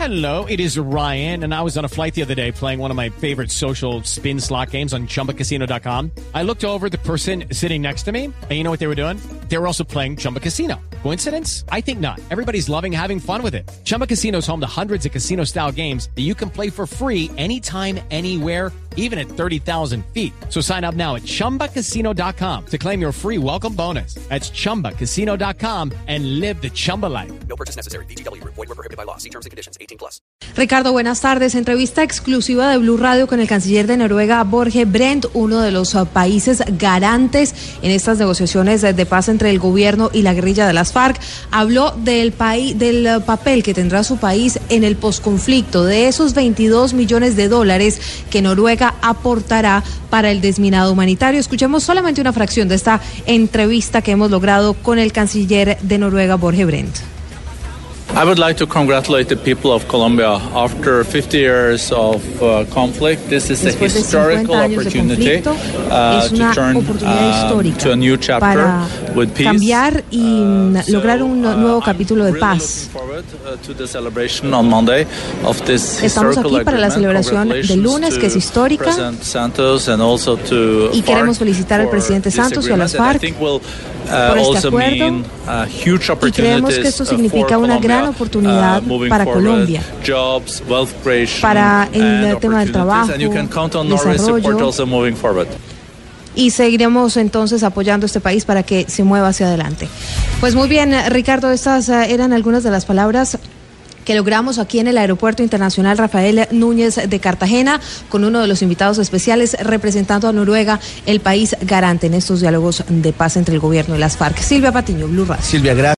Hello, it is Ryan, and I was on a flight the other day playing one of my favorite social spin slot games on ChumbaCasino.com. I looked over at the person sitting next to me, and you know what they were doing? They were also playing Chumba Casino. Coincidence? I think not. Everybody's loving having fun with it. Chumba Casino is home to hundreds of casino-style games that you can play for free anytime, anywhere, even at 30,000 feet. So sign up now at ChumbaCasino.com to claim your free welcome bonus. That's ChumbaCasino.com and live the Chumba life. No purchase necessary. VGW. Void were prohibited by law. See terms and conditions. 18+. Ricardo, buenas tardes. Entrevista exclusiva de Blue Radio con el canciller de Noruega, Børge Brende, uno de los países garantes en estas negociaciones de paz entre el gobierno y la guerrilla de las FARC. Habló del papel que tendrá su país en el posconflicto, de esos $22 millones que Noruega aportará para el desminado humanitario. Escuchemos solamente una fracción de esta entrevista que hemos logrado con el canciller de Noruega, Børge Brende. I would like to congratulate the people of Colombia. After 50 years of conflict, this is a historical opportunity to turn to a new chapter with peace. Cambiar y lograr un nuevo capítulo de paz. Estamos aquí para la celebración del lunes, que es histórica, y queremos felicitar al presidente Santos y a las FARC por este acuerdo, y creemos que esto significa una gran oportunidad para Colombia, para el tema del trabajo, desarrollo, y seguiremos entonces apoyando a este país para que se mueva hacia adelante. Pues muy bien, Ricardo, estas eran algunas de las palabras que logramos aquí en el Aeropuerto Internacional Rafael Núñez de Cartagena, con uno de los invitados especiales representando a Noruega, el país garante en estos diálogos de paz entre el gobierno y las FARC. Silvia Patiño, Blue Radio. Silvia, gracias.